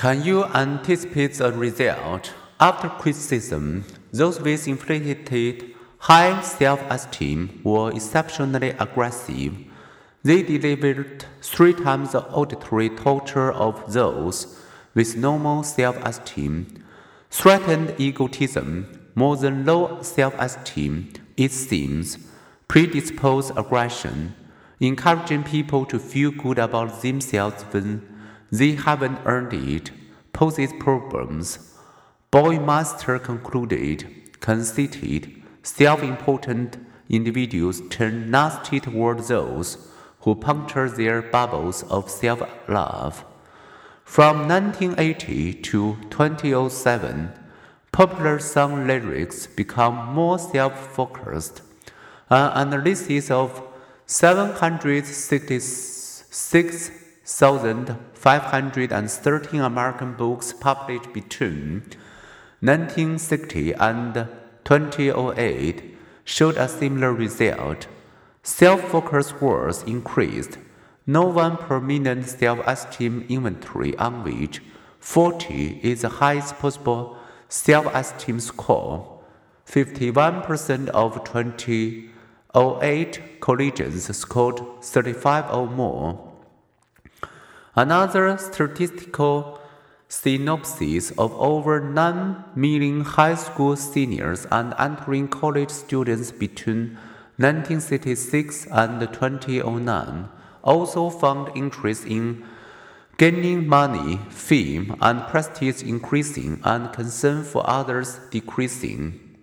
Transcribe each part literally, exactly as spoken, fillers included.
Can you anticipate the result? After criticism, those with inflated high self-esteem were exceptionally aggressive. They delivered three times the auditory torture of those with normal self-esteem, threatened egotism more than low self-esteem, it seems, predisposed aggression, encouraging people to feel good about themselves when they haven't earned it, poses problems. Boymaster concluded, conceited, self-important individuals turn nasty toward those who puncture their bubbles of self-love. From nineteen eighty to twenty oh seven, popular song lyrics become more self-focused. An analysis of seven hundred sixty-six thousand five hundred thirteen American books published between nineteen sixty and twenty oh eight showed a similar result. Self-focused words increased. No one prominent self-esteem inventory on which forty is the highest possible self-esteem score. fifty-one percent of twenty oh eight collegians scored thirty-five or more. Another statistical synopsis of over nine million high school seniors and entering college students between nineteen sixty-six and twenty oh nine also found interest in gaining money, fame, and prestige increasing and concern for others decreasing.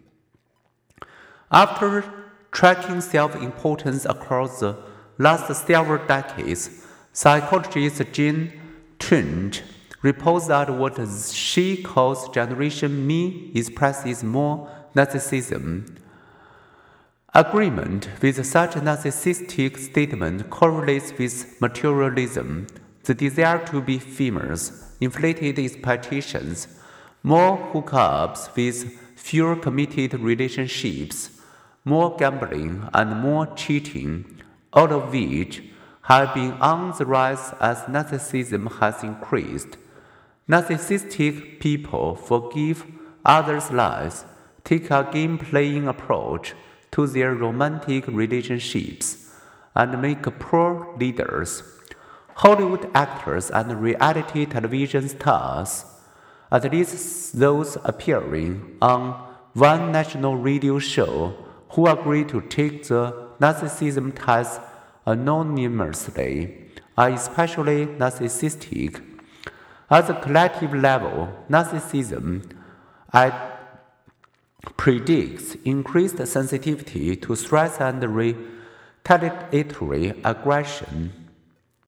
After tracking self-importance across the last several decades, psychologist Jean Twenge reports that what she calls Generation Me expresses more narcissism. Agreement with such a narcissistic statement correlates with materialism, the desire to be famous, inflated expectations, more hookups with fewer committed relationships, more gambling, and more cheating, all of which have been on the rise as narcissism has increased. Narcissistic people forgive others' lies, take a game-playing approach to their romantic relationships, and make poor leaders. Hollywood actors and reality television stars, at least those appearing on one national radio show, who agree to take the narcissism test anonymously, are especially narcissistic. At the collective level, narcissism predicts increased sensitivity to stress and retaliatory aggression.